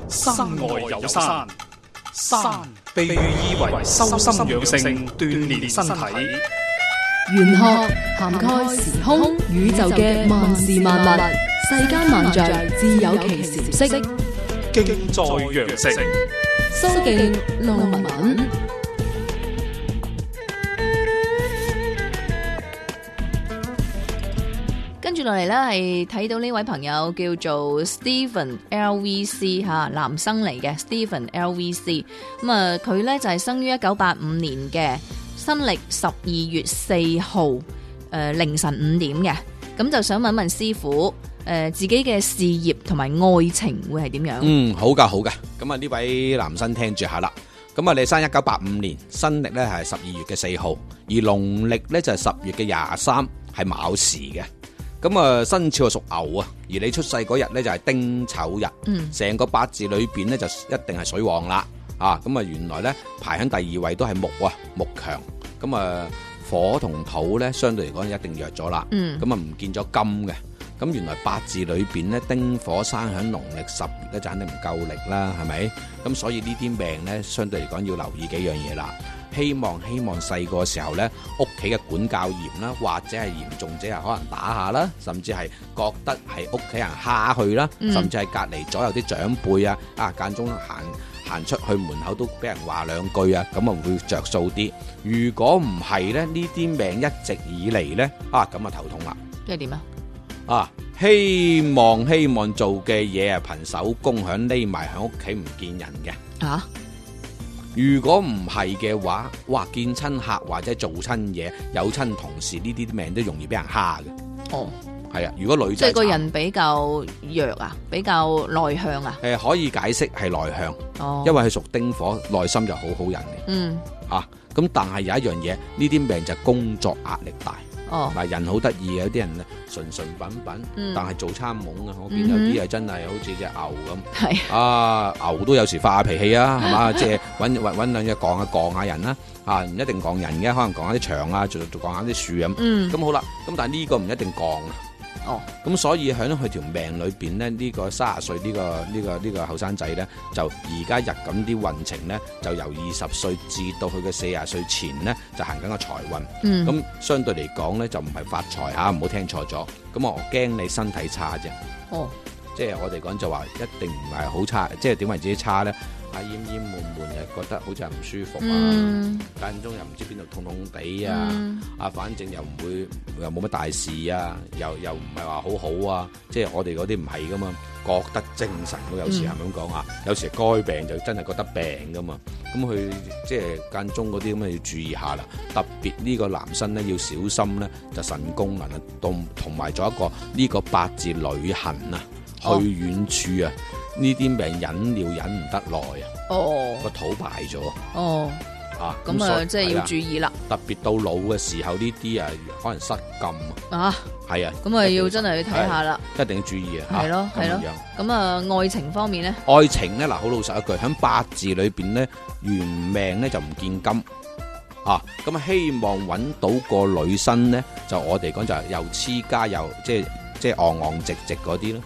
山外有山，山被寓意為修心養性、鍛煉身體。 玄學涵蓋時空宇宙嘅萬事萬物，世間萬象自有其時色。 敬在羊城， 蘇敬路文。跟住落嚟呢，係睇到呢位朋友叫做 Stephen LVC 吓，男生嚟嘅 Stephen LVC。咁啊，佢呢就係生於1985年嘅，新曆12月4號凌晨5點嘅。咁就想問問師傅，自己嘅事業同埋愛情會係點樣？ 好噶。咁啊，呢位男生聽住下啦。咁啊，你生1985年，新曆呢係12月嘅4號，而農曆呢就係10月嘅23，係卯時嘅。咁啊，生肖屬牛啊，而你出世嗰日呢就係丁丑日，成個八字裏邊呢就一定係水旺啦。咁啊，原來呢排喺第2位都係木啊，木強。咁啊，火同土呢相對嚟講一定弱咗啦。咁啊，唔見咗金嘅。咁原來八字裏邊呢，丁火生喺農曆10月呢就肯定唔夠力啦，係咪？咁所以呢啲命呢，相對嚟講要留意幾樣嘢啦。希望細個時候呢，屋企嘅管教嚴啦，或者係嚴重者係可能打下啦，甚至係覺得係屋企人蝦佢啦，甚至係隔離左右啲長輩間中行出去門口都俾人話兩句啊，咁啊會着數啲。如果唔係呢，呢啲命一直以嚟呢，咁啊頭痛啦。 即係點啊？ 希望做嘅嘢憑手工響匿埋響屋企唔見人嘅。如果唔係嘅話，哇，見親客或者做親嘢，有親同事呢啲命都容易俾人蝦嘅。係啊，如果女仔即係個人比較弱啊，比較內向啊。 可以解釋係內向，因為佢屬丁火，內心就好好人嘅。咁但係有一樣嘢，呢啲命就係工作壓力大。人好得意嘅，有啲人純品，但係做參懵啊！我見有啲係真係好似隻牛咁，牛都有時發下脾氣啊，係嘛？即係搵兩隻槓下人啦，唔一定槓人嘅，可能槓下啲牆啊，做槓下啲樹咁。咁好啦，咁但係呢個唔一定槓啊。咁所以喺佢條命裏邊呢，呢個30歲呢個後生仔呢，就而家入緊啲運程呢，就由20歲至到佢嘅40歲前呢，就行緊個財運。咁相對嚟講呢，就唔係發財嚇，唔好聽錯咗。咁我驚你身體差啫。即係我哋講就話一定唔係好差，即係點為自己差呢？厭悶又覺得好似係唔舒服間中又唔知邊度痛痛地反正又唔會又冇乜大事又唔係話好好即係我哋嗰啲唔係噶嘛，覺得精神都有時係咁講有時該病就真係覺得病噶嘛，咁佢即係間中嗰啲咁要注意下啦，特別呢個男生呢，要小心呢，就腎功能同埋咗一個呢個八字旅行去遠處呢啲命忍尿忍唔得耐個肚敗咗咁即係要注意啦。 特別到老嘅時候呢啲可能失禁係咁要真係去睇下啦， 一定要注意係咯。咁愛情方面呢？ 愛情呢，好老實一句，喺八字裏邊呢，原命呢就唔見金咁希望揾到個女生呢，就我哋講就又黐家又即係昂昂直直嗰啲咯。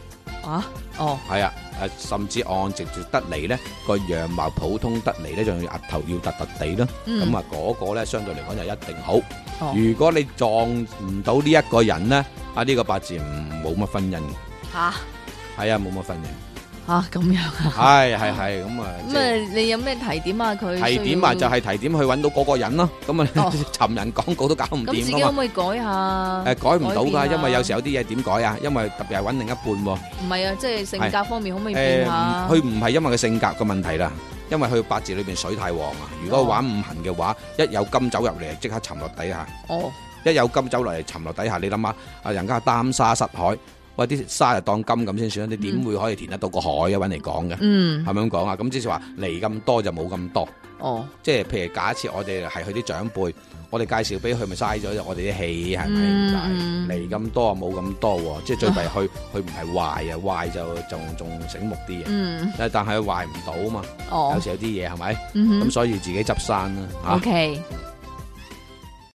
甚至按直直得嚟呢，個樣貌普通得嚟呢，仲要額頭要突突地啦。咁嗰個呢，相對嚟講就一定好。如果你撞唔到呢一個人呢，呢個八字冇乜婚姻。冇乜婚姻。 咁樣係咁你有咩提點佢？ 提點就係提點去揾到嗰個人咯。咁尋人廣告都搞唔掂。咁自己可唔可以改下？ 改唔到噶，因為有時有啲嘢點改因為特別係揾另一半。 唔係即係性格方面可唔可以變下？ 佢唔係因為佢性格嘅問題啦，因為佢八字裏邊水太旺如果玩五行嘅話，一有金走入嚟即刻沉落底下。一有金走落嚟沉落底下，你諗下人家擔沙失海。喂，啲沙就當金咁先算，你點會可以填得到個海揾嚟講嘅？係咪咁講咁即係話嚟咁多就冇咁多。即係譬如假設我哋係佢啲長輩，我哋介紹俾佢咪嘥咗我哋啲氣係咪？嚟咁多冇咁多即係最弊佢唔係壞壞就仲醒目啲但係佢壞唔到嘛。有時有啲嘢係咪？咁所以自己執生啦。 OK。